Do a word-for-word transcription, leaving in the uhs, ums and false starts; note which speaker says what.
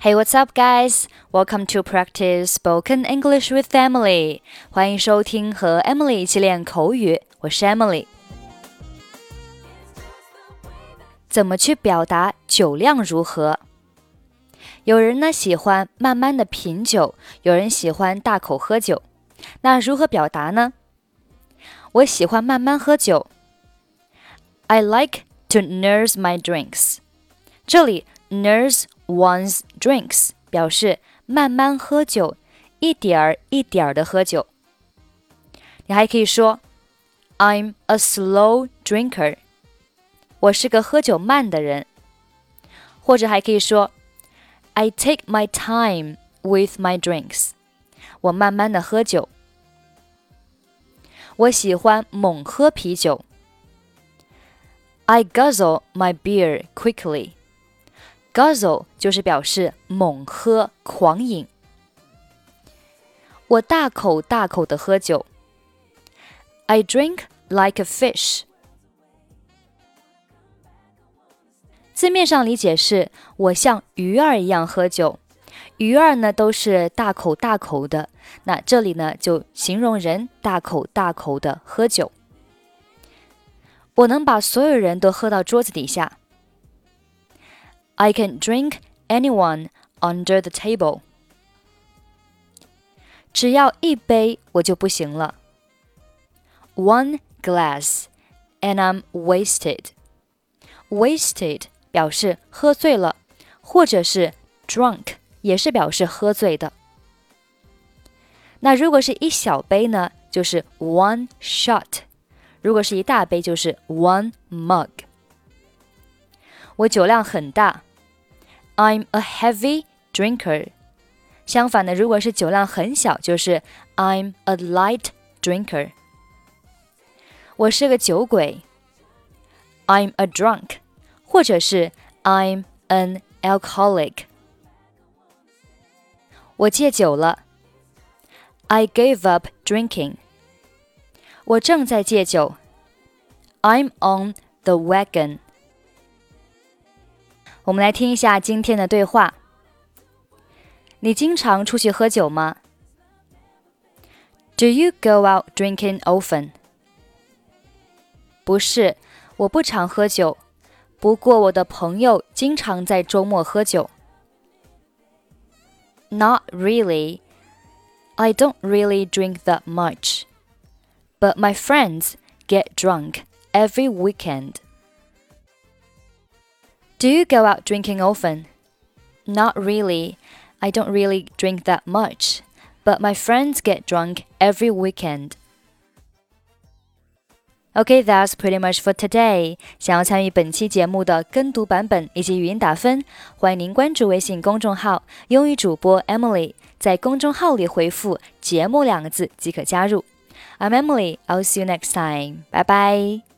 Speaker 1: Hey, what's up, guys? Welcome to practice spoken English with Emily. 欢迎收听和 Emily 一起练口语，我是 Emily。怎么去表达酒量如何？有人呢喜欢慢慢的品酒，有人喜欢大口喝酒。那如何表达呢？我喜欢慢慢喝酒。I like to nurse my drinks. 这里 nurse one's drinks 表示慢慢喝酒，一点儿一点儿的喝酒。你还可以说 I'm a slow drinker. 我是个喝酒慢的人。或者还可以说 I take my time with my drinks. 我慢慢的喝酒。我喜欢猛喝啤酒。I guzzle my beer quickly. Guzzle 就是表示猛喝、狂饮。我大口大口的喝酒。I drink like a fish. 字面上理解是我像鱼儿一样喝酒。鱼儿呢都是大口大口的，那这里呢就形容人大口大口的喝酒。我能把所有人都喝到桌子底下。I can drink anyone under the table. 只要一杯我就不行了。One glass and I'm wasted. Wasted 表示喝醉了，或者是 drunk 也是表示喝醉的。那如果是一小杯呢，就是 one shot. 如果是一大杯就是 one mug. 我酒量很大。I'm a heavy drinker. 相反的，如果是酒量很小，就是 I'm a light drinker. 我是个酒鬼。I'm a drunk. 或者是 I'm an alcoholic. 我戒酒了。I gave up drinking. 我正在戒酒。I'm on the wagon. 我们来听一下今天的对话。你经常出去喝酒吗？ Do you go out drinking often? 不是，我不常喝酒，不过我的朋友经常在周末喝酒。Not really. I don't really drink that much. But my friends get drunk every weekend. Do you go out drinking often? Not really. I don't really drink that much. But my friends get drunk every weekend. Okay, that's pretty much for today. 想要参与本期节目的跟读版本以及语音打分，欢迎您关注微信公众号英语主播 Emily， 在公众号里回复节目两个字即可加入。I'm Emily, I'll see you next time. Bye bye.